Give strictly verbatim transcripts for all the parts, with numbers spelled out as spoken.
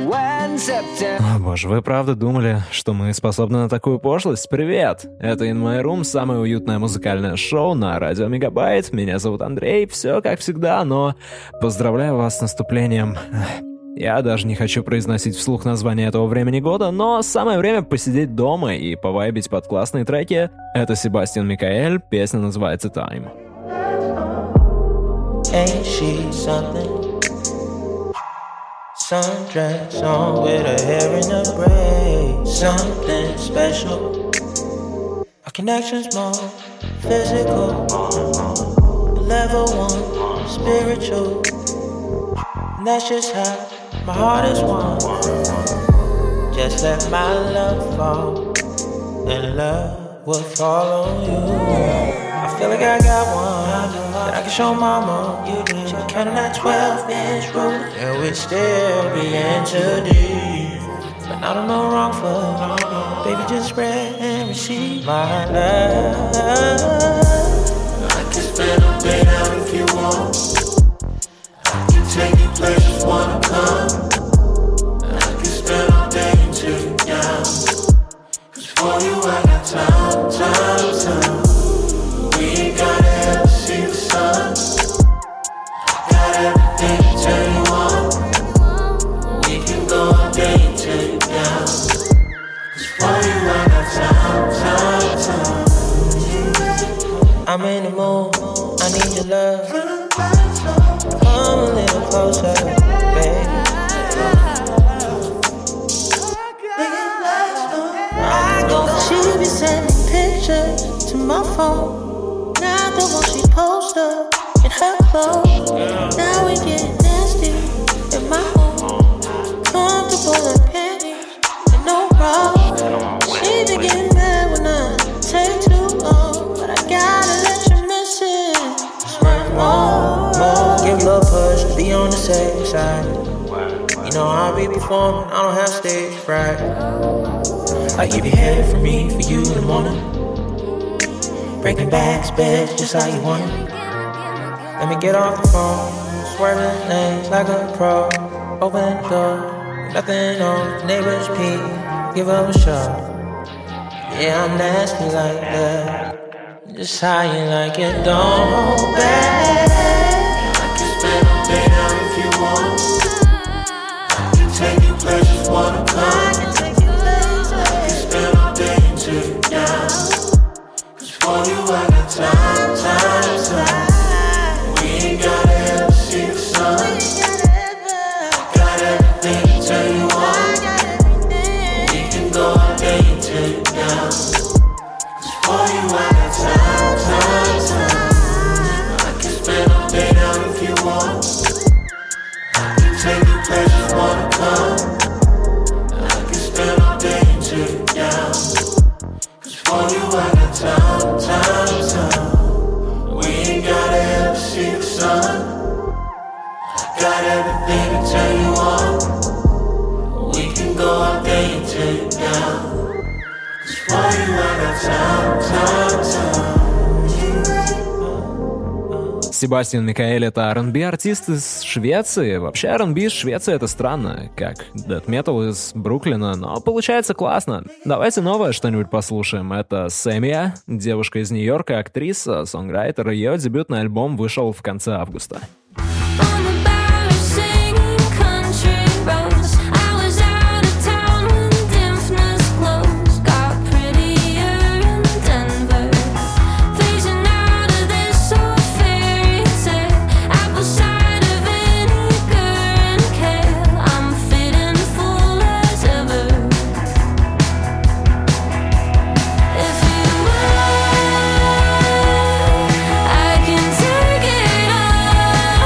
О боже, вы правда думали, что мы способны на такую пошлость? Привет! Это In My Room, самое уютное музыкальное шоу на радио Мегабайт. Меня зовут Андрей, все как всегда, но поздравляю вас с наступлением. Я даже не хочу произносить вслух название этого времени года, но самое время посидеть дома и повайбить под классные треки. Это Себастьян Микаэль, песня называется «Time». Ain't she something? Sundress on with her hair in a braid. Something special. Our connection's more physical. Level one, spiritual. And that's just how my heart is won. Just let my love fall, and love will fall on you. I feel like I got one that I can show mama. She be counting that twelve inch ruler, and we still be into deep. But I don't know wrong for, baby, just spread and receive my love. I can spend a day out if you want. I can take you places wanna come. I can spend all day until you down. Cause for you I got time, time, time. We ain't gotta ever see the sun. I got everything to turn you on. We can go all day until you down. Cause for you I got time, time, time. I'm in the mood, I need your love. Come a little closer, baby. She be sending pictures to my phone. Now the one she posts up in her clothes. Now we get nasty in my home. Comfortable in panties and no bra. She be getting mad when I take too long, but I gotta let you miss it. Just run more, more. Give a little push to be on the safe side. You know I'll be performing, I don't have stage fright. I give you head for me, for you in the morning. Breaking backs, beds, just how you want it. Let me get off the phone, swerving lanes like a pro. Open the door, nothing on the neighbor's peek. Give up a shot. Yeah, I'm nasty like that. Just how you like it, don't hold back. I can spend all day out if you want. I can take you places wanna come. I can spend all day until you down. For you I got time, time, time. We ain't gotta ever see the sun. Got everything to turn you on. We can go all day until you down. Cause for you I got time, time, time. I can spend all day down if you want. I can take you places wanna come. I can spend all day until you down. Cause for you I got time, time, time. We ain't gotta ever see the sun. Got everything to turn you on. We can go all day until you down. Cause for you I got time, time, time. Себастьян Микаэль — это ар энд би-артист из Швеции. Вообще ар энд би из Швеции — это странно, как дэт метал из Бруклина, но получается классно. Давайте новое что-нибудь послушаем. Это Сэмия, девушка из Нью-Йорка, актриса, сонграйтер. Ее дебютный альбом вышел в конце августа. I can take it all.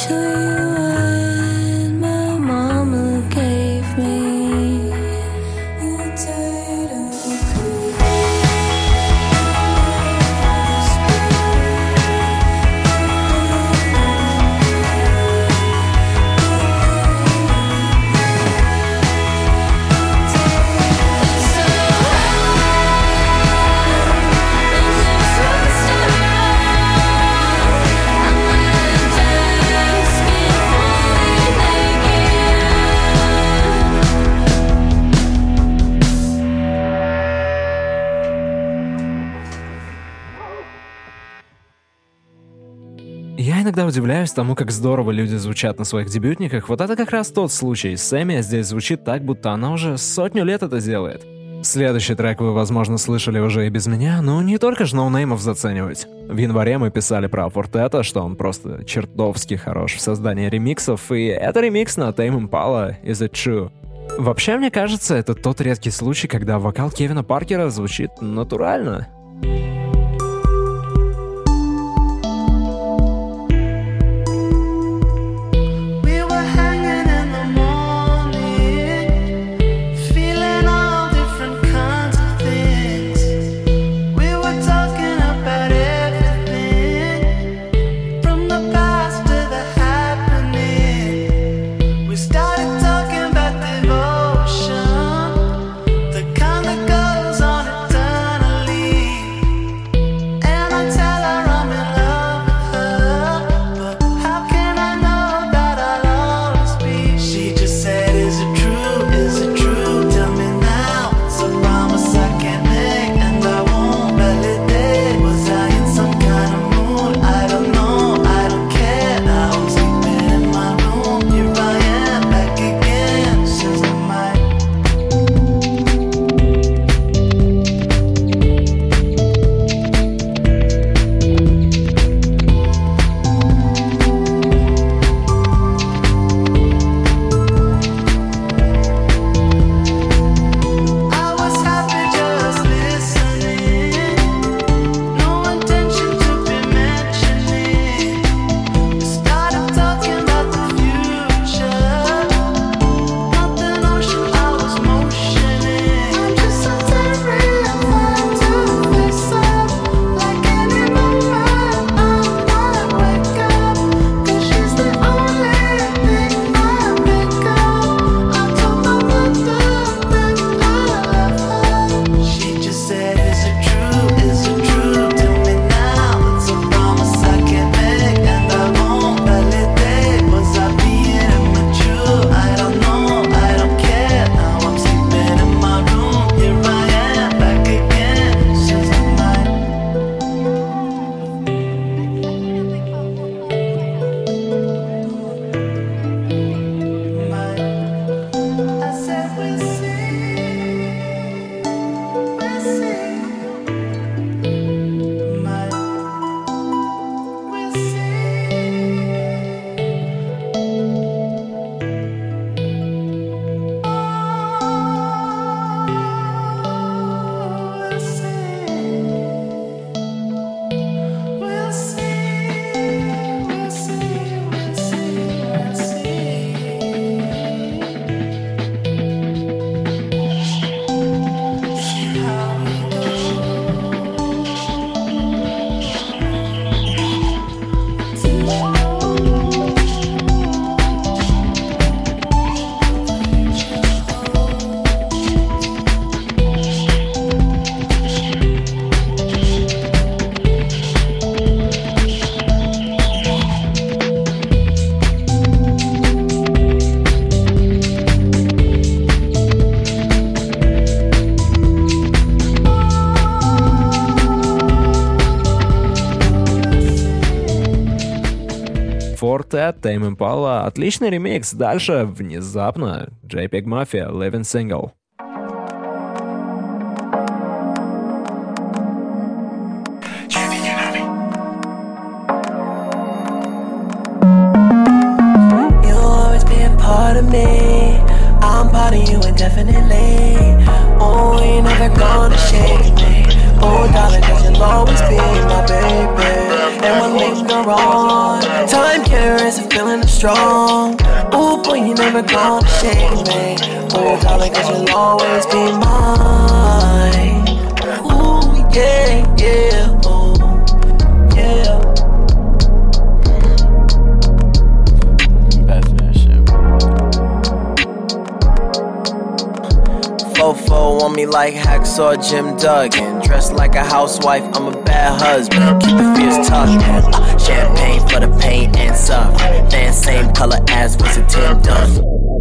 Я иногда удивляюсь тому, как здорово люди звучат на своих дебютниках. Вот это как раз тот случай. Сэмми здесь звучит так, будто она уже сотню лет это делает. Следующий трек вы, возможно, слышали уже и без меня, но не только же ноунеймов заценивать. В январе мы писали про Фортета, что он просто чертовски хорош в создании ремиксов, и это ремикс на Tame Impala «Is It True?». Вообще, мне кажется, это тот редкий случай, когда вокал Кевина Паркера звучит натурально. Fortet, Tame Impala, отличный ремикс. Дальше, внезапно, JPEG Mafia, Living Single. You'll always be a part of me. I'm part of you indefinitely. Oh, you're never gonna shake me. Oh, darling, cause you'll always be my baby. And we'll linger on. Time carries a feeling of strong. Oh, boy, you never gonna shake me. Oh, darling, cause you'll always be mine. Ooh, yeah, yeah, oh, yeah. Fofo on me like Hacksaw Jim Duggan. Dressed like a housewife, I'm a bad husband. Keep it fierce tucked in. Uh, champagne for the pain and suffering. Fan same color as was a Tim Dunn.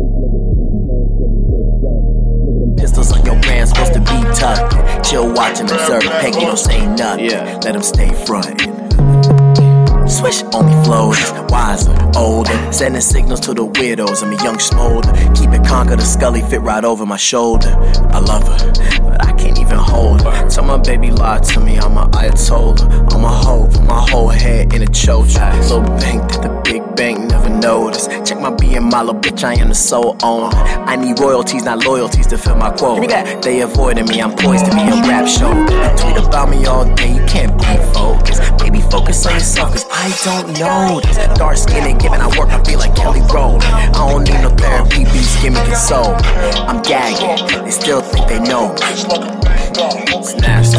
Pistols on your brand, supposed to be tucked in. Chill, watch and observe. Peggy don't say nothing. Yeah. Let him stay frontin'. Swish only flows, wiser, older. Sending signals to the weirdos. I'm a young smolder. Keep it conquer the Scully fit right over my shoulder. I love her, but I can't even hold her. Tell my baby lie to me, I'm a Ayatollah. I'm a hoe, put my whole head in a chocha. Little bank that the big bank never noticed. Check my B and my little bitch, I am the sole owner. I need royalties, not loyalties to fill my quota. They avoiding me, I'm poised to be a rap show. Tweet about me all day, you can't be focused. Baby, focus on yourself, cause I don't know this. Dark skin and giving, I work, I feel like Kelly Rowland. I don't need no therapy, beats give me console. I'm gagging, they still think they know me. It's nasty.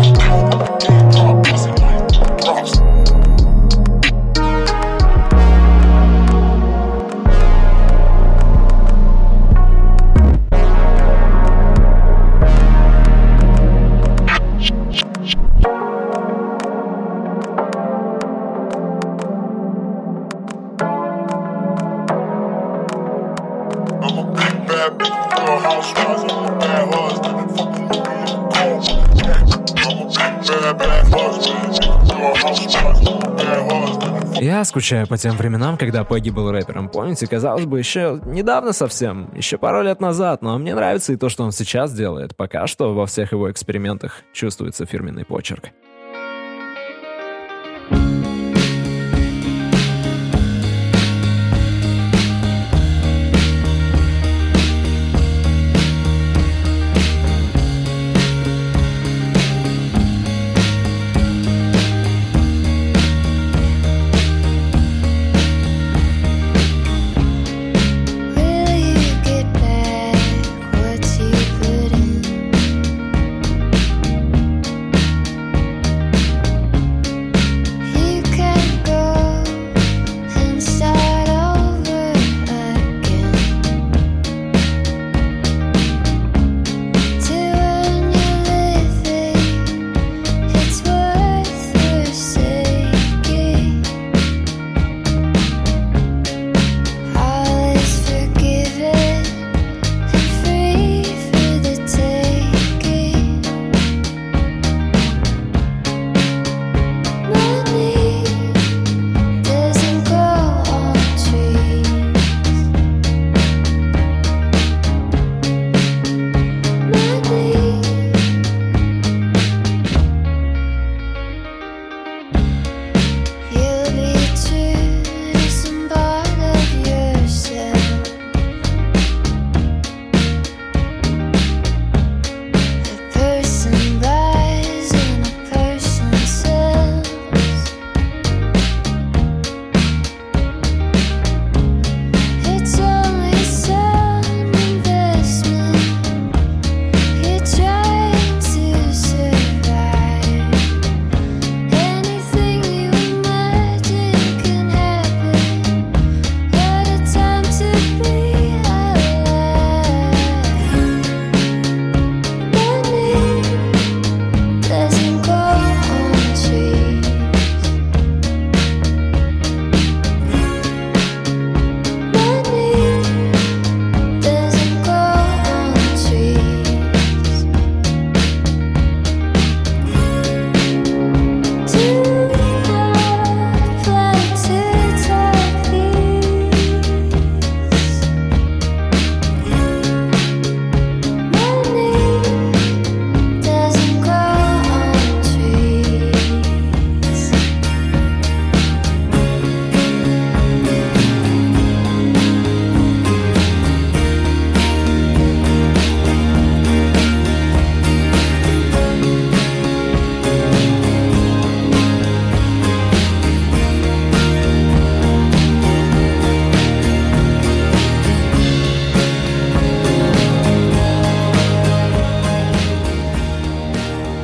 Я скучаю по тем временам, когда Пегги был рэпером. Помните, казалось бы, еще недавно совсем, еще пару лет назад, но мне нравится и то, что он сейчас делает. Пока что во всех его экспериментах чувствуется фирменный почерк.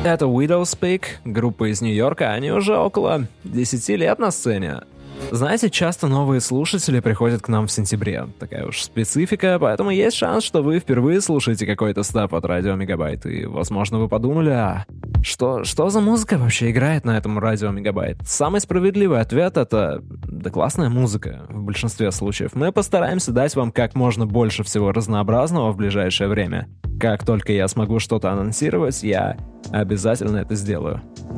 Это Widow's Peak, группа из Нью-Йорка, они уже около десяти лет на сцене. Знаете, часто новые слушатели приходят к нам в сентябре. Такая уж специфика, поэтому есть шанс, что вы впервые слушаете какой-то став от Радио Мегабайт, и, возможно, вы подумали, а что, что за музыка вообще играет на этом Радио Мегабайт? Самый справедливый ответ — это да классная музыка в большинстве случаев. Мы постараемся дать вам как можно больше всего разнообразного в ближайшее время. Как только я смогу что-то анонсировать, я обязательно это сделаю.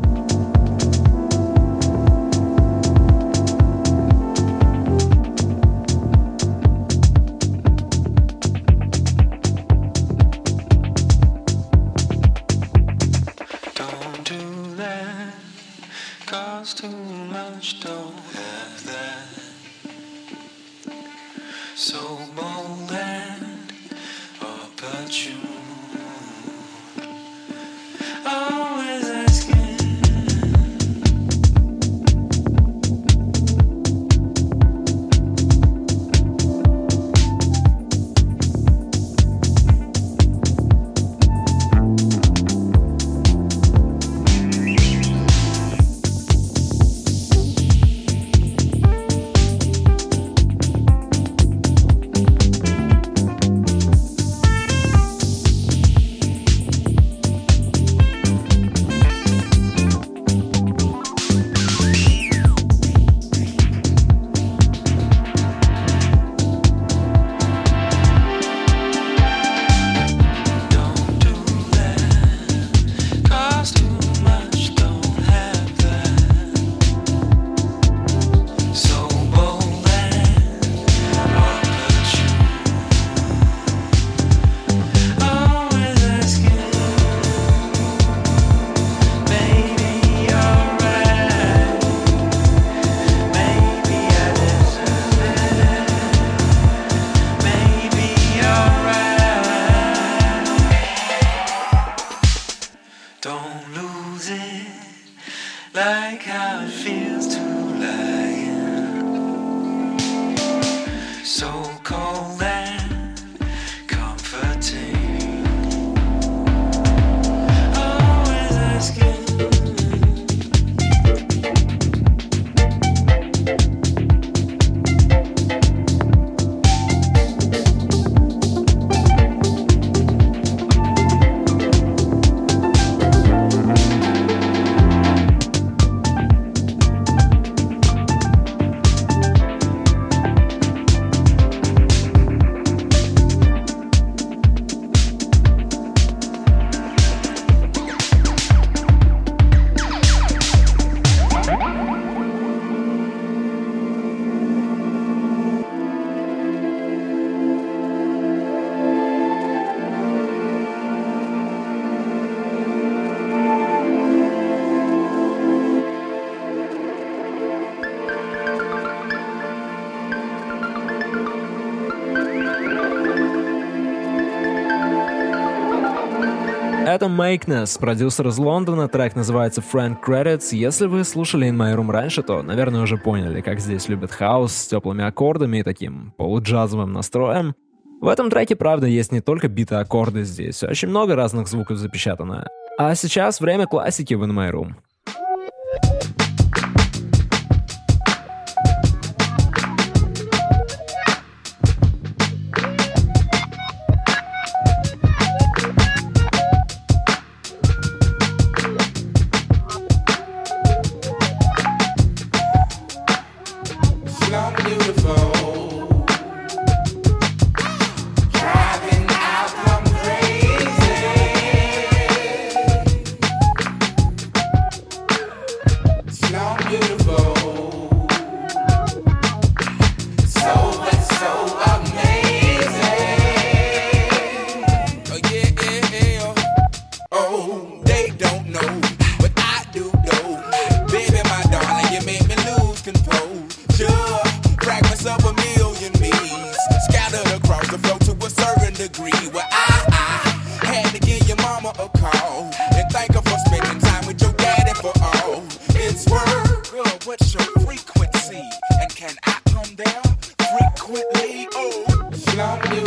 Это Makeness, продюсер из Лондона, трек называется Friend Credits. Если вы слушали In My Room раньше, то, наверное, уже поняли, как здесь любят хаус с теплыми аккордами и таким полуджазовым настроем. В этом треке, правда, есть не только биты аккорды здесь, очень много разных звуков запечатано. А сейчас время классики в In My Room.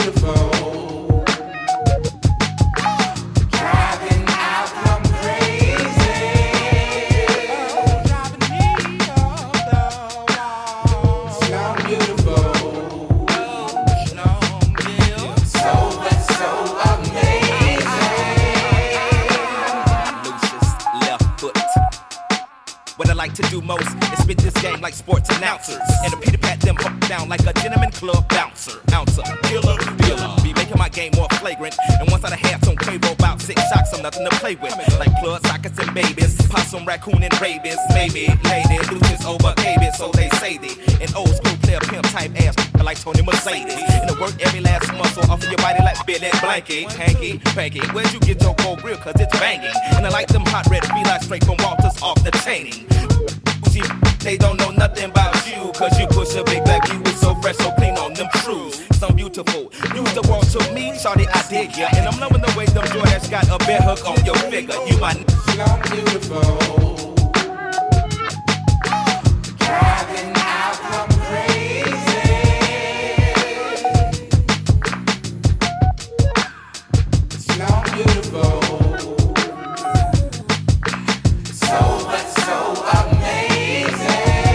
Driving out, I'm crazy. game like sports announcers. And to Peter pat them hook down like a gentleman club bouncer. Ouncer, killer, dealer. Be making my game more flagrant. And once I had some Quavo about six shocks, I'm nothing to play with. Like blood, sockets, and babies. Possum, raccoon, and rabies. Maybe, lady, Lucius over cabbage, so they say they. An old school player pimp type ass like Tony Mercedes. And to work every last muscle off of your body like Billy Blanky. Hanky, panky, where'd you get your gold grill? Cause it's banging. And I like them hot red felines straight from Walters off the chaining. They don't know nothing about you. Cause you push a big black you was so fresh, so clean on them shoes. So beautiful. Use the world to me, shawty, I dig ya. And I'm loving the way them Jordans got a bear hook on your figure. You my n***a, beautiful. Driving out, I'm crazy. Slow, beautiful. So much, so amazing.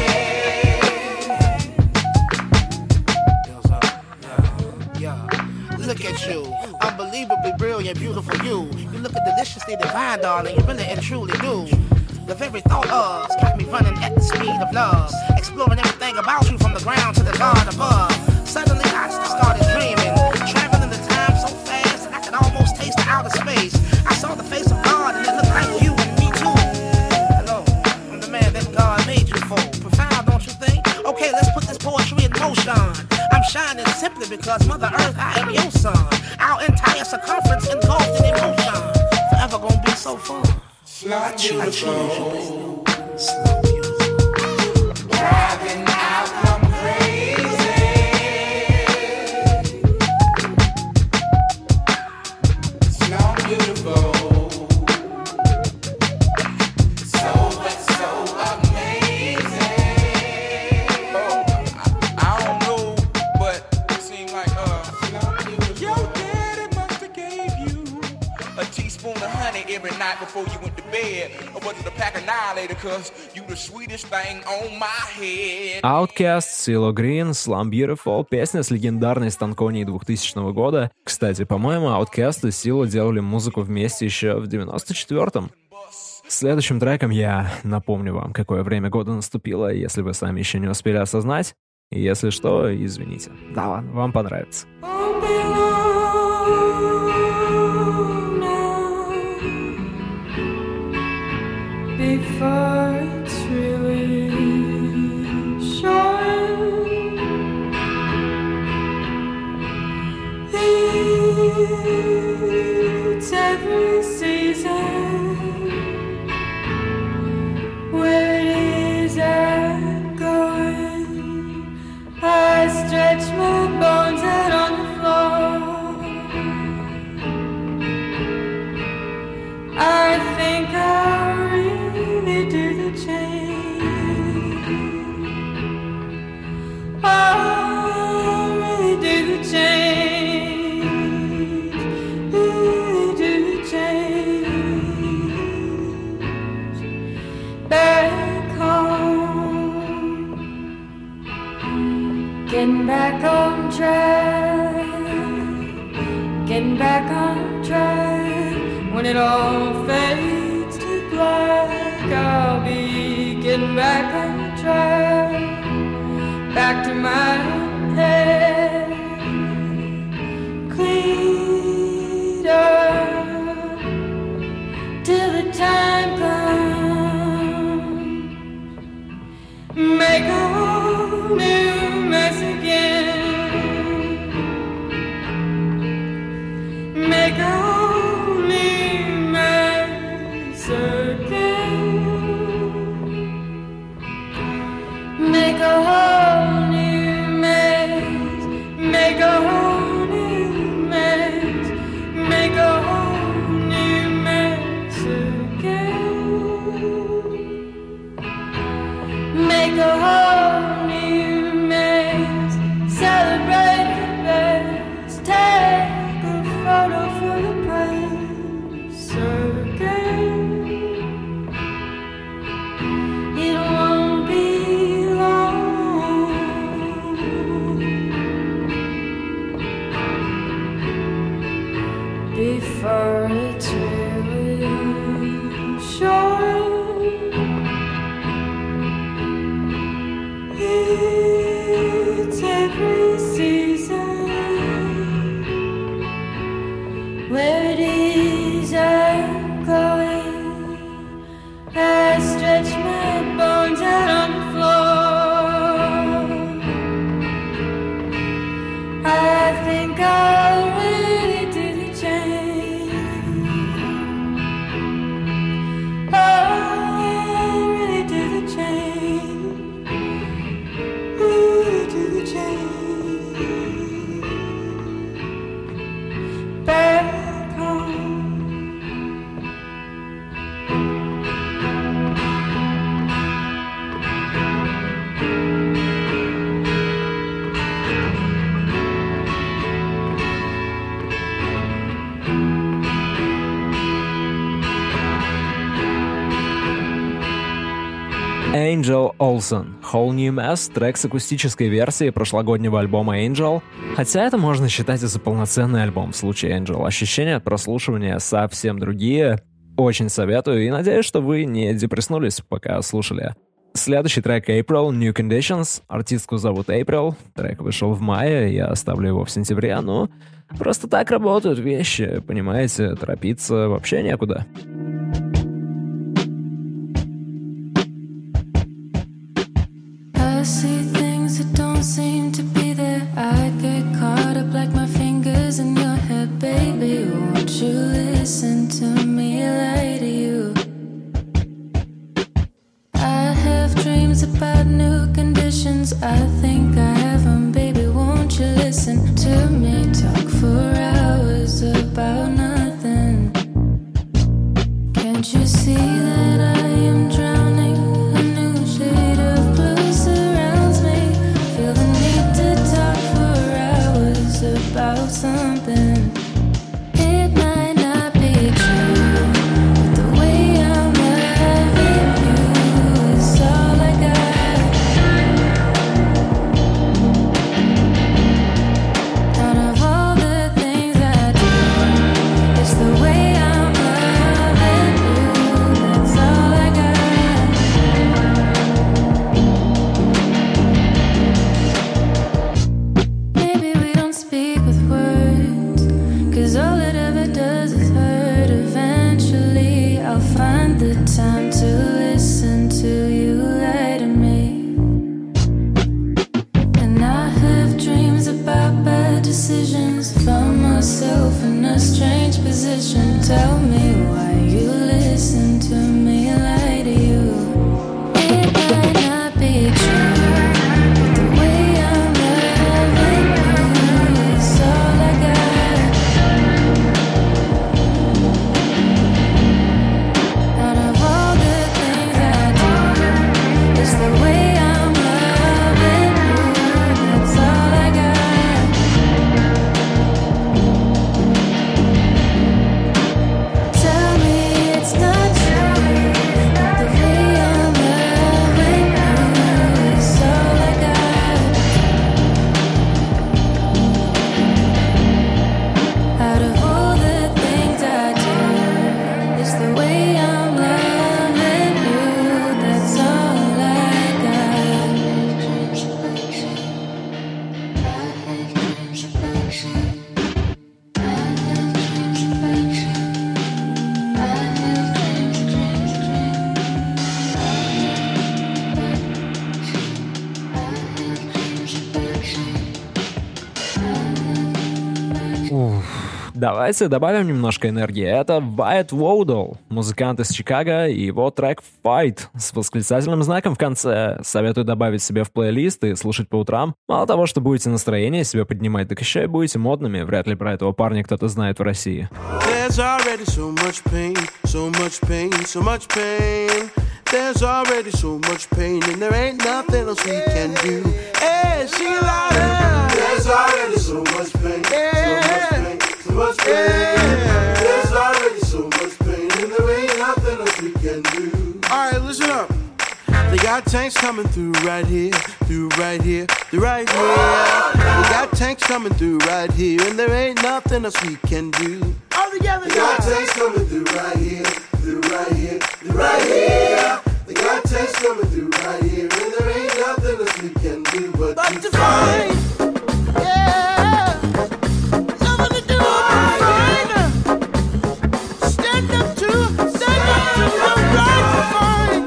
Look at you, unbelievably brilliant, beautiful you. You look at deliciously divine, darling, you really and truly do. The very thought of's got me running at the speed of love, exploring everything about you from the ground to the God above. Suddenly I started dreaming, traveling the time so fast that I could almost taste the outer space. I saw the face of God and it looked like you and me too. Hello, I'm the man that God made you for. Profound, don't you think? Okay, let's put this poetry in motion. I'm shining simply because Mother Earth, I am your son. Our entire circumference engulfed in emotion. Forever gonna be so fun. I choose, I choose you, baby. Slow beautiful. Driving out, I'm crazy. Slow beautiful. So much, so amazing. Oh, I, I don't know, but it seems like uh, your daddy must have gave you a teaspoon of honey every night before you went to bed, or was it a pack of Annihilator, cause you the sweetest thing on my head. Outkast, CeeLo Green, Slum Beautiful, песня с легендарной Станконией двухтысячного года. Кстати, по-моему, Outkast и CeeLo делали музыку вместе еще в девяносто четвёртом. Следующим треком я напомню вам, какое время года наступило, если вы сами еще не успели осознать. И если что, извините. Да ладно, вам понравится. Before it's really short, it's every season. Where is it going? I stretch my bones out on the floor. I think I really do the change. I really do the change. Really do the change. Back home, getting back on track, getting back on track. When it all fades to black, I'll be getting back on track, back to my head, cleaned up, till the time comes, make a whole new mess again, make a whole new mess again, make a whole new mess Angel Olsen, Whole New Mess, трек с акустической версии прошлогоднего альбома Angel. Хотя это можно считать и за полноценный альбом в случае Angel. Ощущения от прослушивания совсем другие. Очень советую и надеюсь, что вы не депресснулись, пока слушали. Следующий трек April, New Conditions. Артистку зовут April. Трек вышел в мае, я оставлю его в сентябре. Ну, просто так работают вещи, понимаете? Торопиться вообще некуда. I see things that don't seem to be there. I get caught up like my fingers in your head, baby. Won't you listen to me, lie to you? I have dreams about new conditions. I think I have them, baby. Won't you listen to me? Talk for hours about nothing. Can't you see that I am drowning? A new shade of blue surrounds me. Feel the need to talk for hours about something. It might not be true, but the way I'm loving you is all I got. Out of all the things I do, it's the way I'm loving you, that's all I got. Maybe we don't speak with words, 'cause all it ever does is hurt. Eventually I'll find the time to listen to you lie to me. And I have dreams about bad decisions. Found myself in a strange position. Tell me why you listen to me lie to you. It might not be true, but the way I'm loving you is all I got. Out of all the things I do, it's the way I'm loving you, that's all I got. Tell me it's not true, but the way I'm loving you is all I got. Out of all the things I do, it's the way I'm loving you, that's all I got. Давайте добавим немножко энергии. Это Wyatt Wodell, музыкант из Чикаго, и его трек Fight с восклицательным знаком в конце. Советую добавить себе в плейлист и слушать по утрам. Мало того, что будете настроение себе поднимать, так еще и будете модными. Вряд ли про этого парня кто-то знает в России. There's already so much pain, so much pain, so much pain. There's already so much pain, and there ain't nothing else we can do. Hey, she louder. There's already so much pain, so much pain, so much pain. There's already so much pain, and there ain't nothing else we can do. All right, listen up. They got tanks coming through right here, through right here, through right here. They got tanks coming through right here, and there ain't nothing else we can do. All together, they got tanks coming through right here, through right here, through right here. They got tanks coming through right here, and there ain't nothing else we can do but, but to fight. Yeah, nothing to do but to fight. Stand up to, stand up to the right to fight.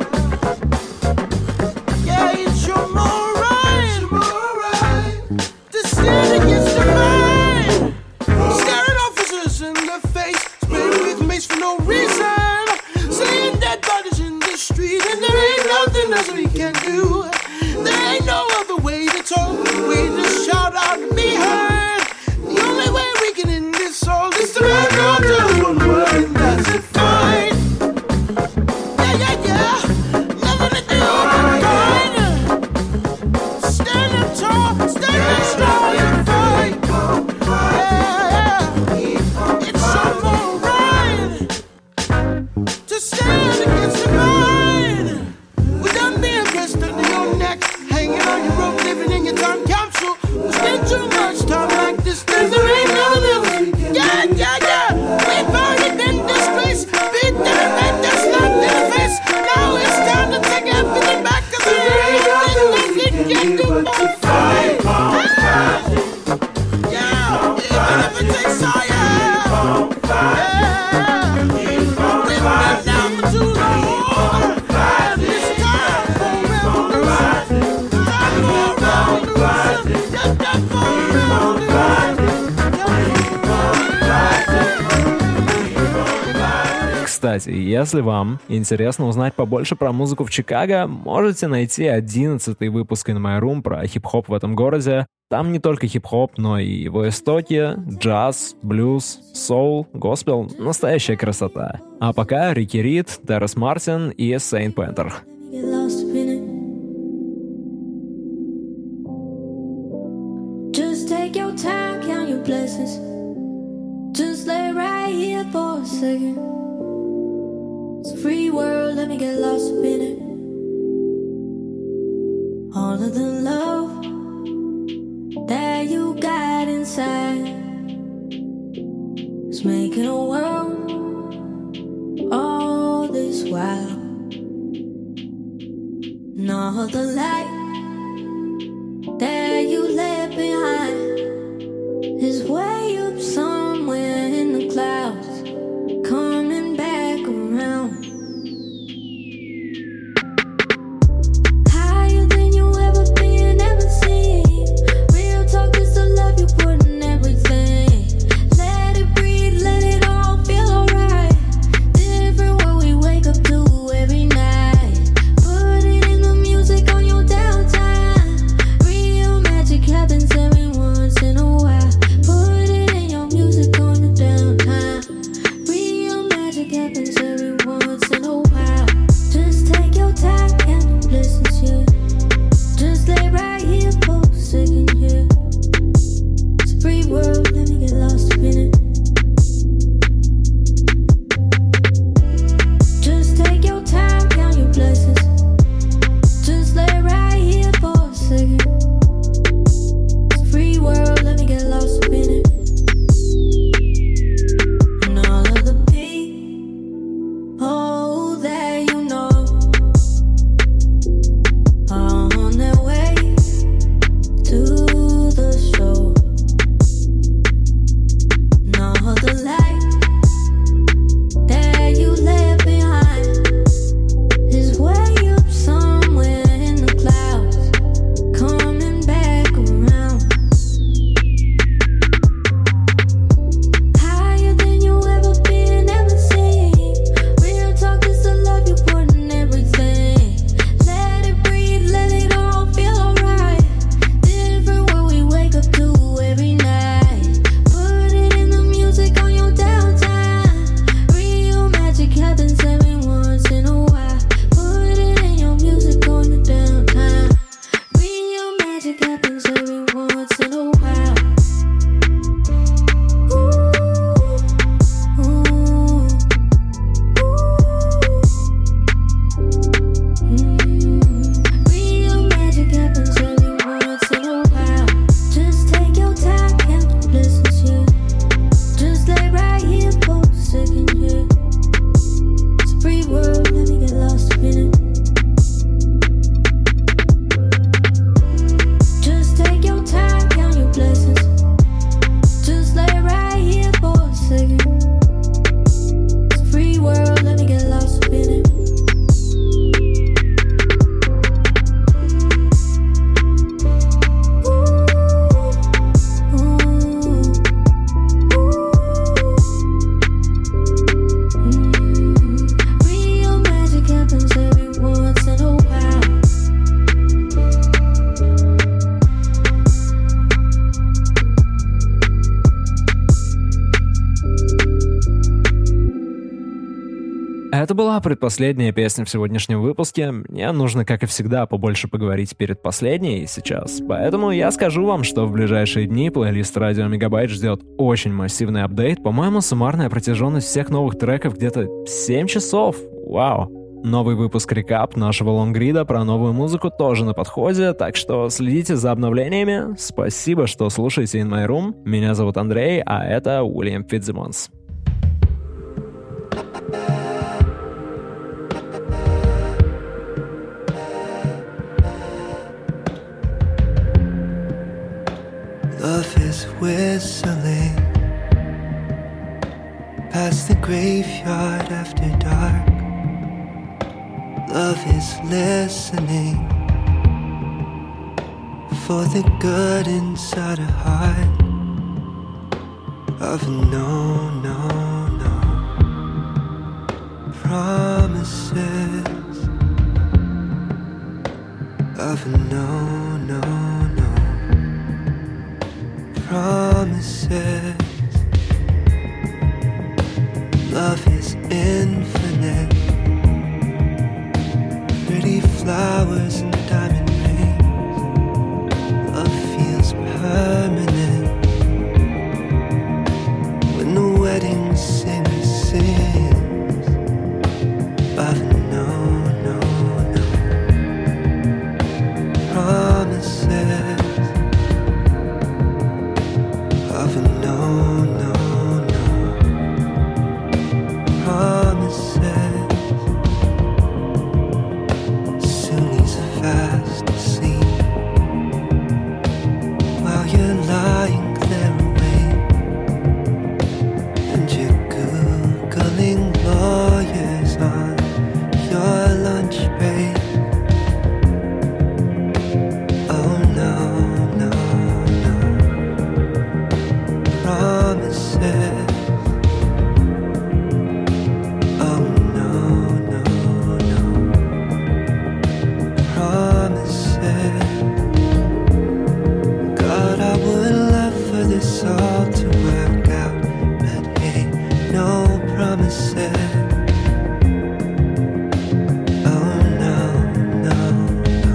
Yeah, it's your more right, it's your more right to stand against the fight. Staring officers in the face, spraying with mace for no reason, seeing dead bodies in the street, and there ain't nothing else we can do Кстати, если вам интересно узнать побольше про музыку в Чикаго, можете найти одиннадцатый выпуск In My Room про хип-хоп в этом городе. Там не только хип-хоп, но и его истоки, джаз, блюз, соул, госпел — настоящая красота. А пока Рики Рид, Терренс Мартин и Saint Panther. Just take your time, count your blessings. Just lay right here for a second. It's a free world, let me get lost up in it. All of the love that you got inside is making a world all this while. And all the light that you left behind is way up somewhere in the clouds, coming back around. Higher than you ever been, ever seen. Real talk is the love you put in everything. Let it breathe, let it all feel alright. Different what we wake up to every night. Put it in the music on your downtime. Real magic happens every once in a while. Put it in your music on your downtime. Real magic happens every once in a while. Just take your time and listen to it. Just lay right here for a second, yeah. It's a free world, let me get lost up in it. Just take your time, count your blessings. Just lay right here for a second. It's a free world, let me get lost up in it. And all of the people that you know are on their way to the show. And all the light that you left behind is way up somewhere in the clouds, coming back around. Higher than you ever been, ever seen. Real talk is the love you put in everything. Let it breathe, let it all feel alright. Different what we wake up to every night. Put it in the music on your downtime. Real magic happens every once in a while. Put it in your music on your downtime. Real magic happens every once in a while. Ooh, ooh, ooh. Mm. Real magic happens every once in a while. Just take your time, count your blessings, yeah. Just lay right here for a second, yeah. It's a free world, let me get lost up in it. Just take your time, count your blessings. Just lay right here for a second. It's a free world, let me get lost up in it. Ooh, ooh, ooh. Mm. Real magic happens every once in a while. Это была предпоследняя песня в сегодняшнем выпуске. Мне нужно, как и всегда, побольше поговорить перед последней сейчас. Поэтому я скажу вам, что в ближайшие дни плейлист Радио Мегабайт ждет очень массивный апдейт. По-моему, суммарная протяженность всех новых треков где-то семь часов. Вау! Новый выпуск рекап нашего лонгрида про новую музыку тоже на подходе, так что следите за обновлениями. Спасибо, что слушаете In My Room. Меня зовут Андрей, а это Уильям Фитцсимонс. Love is whistling past the graveyard after dark. Love is listening for the good inside her heart. Of no, no, no. promises of a no, no, no. Promises. Love is infinite. Pretty flowers and diamond rings. Love feels permanent. When the wedding singer sings of no, no, no. Promises of a no, no, no. Promises. Soon he's fast asleep while you're lying there awake, and you're googling lawyers on your lunch break. Oh no, no, no. Promises. Oh no, no, no. Promises. God, I would love for this all to work out, but hey, no promises. Oh no, no, no.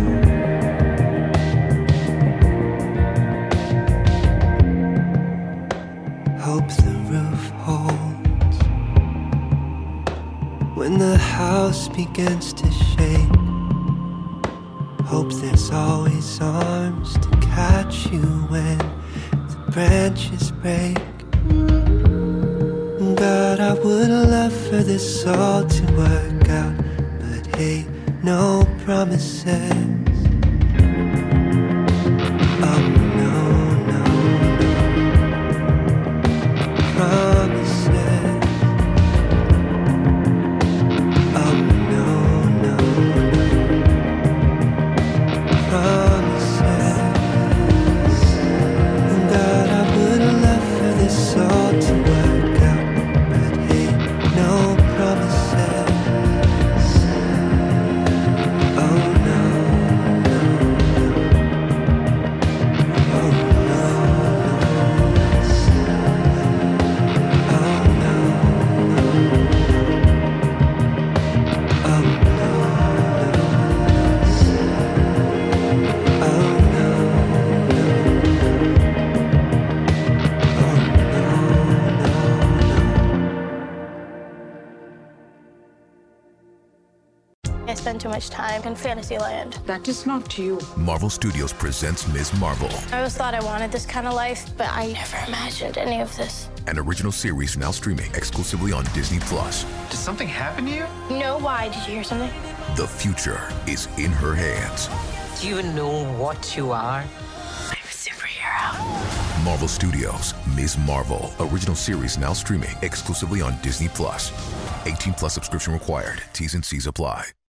Hope the roof holds when the house begins to shake. Hope there's always arms to catch you when the branches break. God, I would love for this all to work out, but hey, no promises. Oh no, no, no. Promises. Oh no, no, no. Promises. God, I would love for this all to work out, but hey, no promises. Oh no, no, no. Oh no, no. Oh no, no. Oh no, no. Oh no, no. Oh no, no, I spend too much time in Fantasyland. That is not you. Marvel Studios presents Miz Marvel, I always thought I wanted this kind of life, but I never imagined any of this. an original series now streaming exclusively on Disney Plus. Did something happen to you? No, why? Did you hear something? The future is in her hands. Do you know what you are? I'm a superhero. Marvel Studios, Miz Marvel, original series now streaming exclusively on Disney Plus. eighteen plus subscription required. T's and C's apply.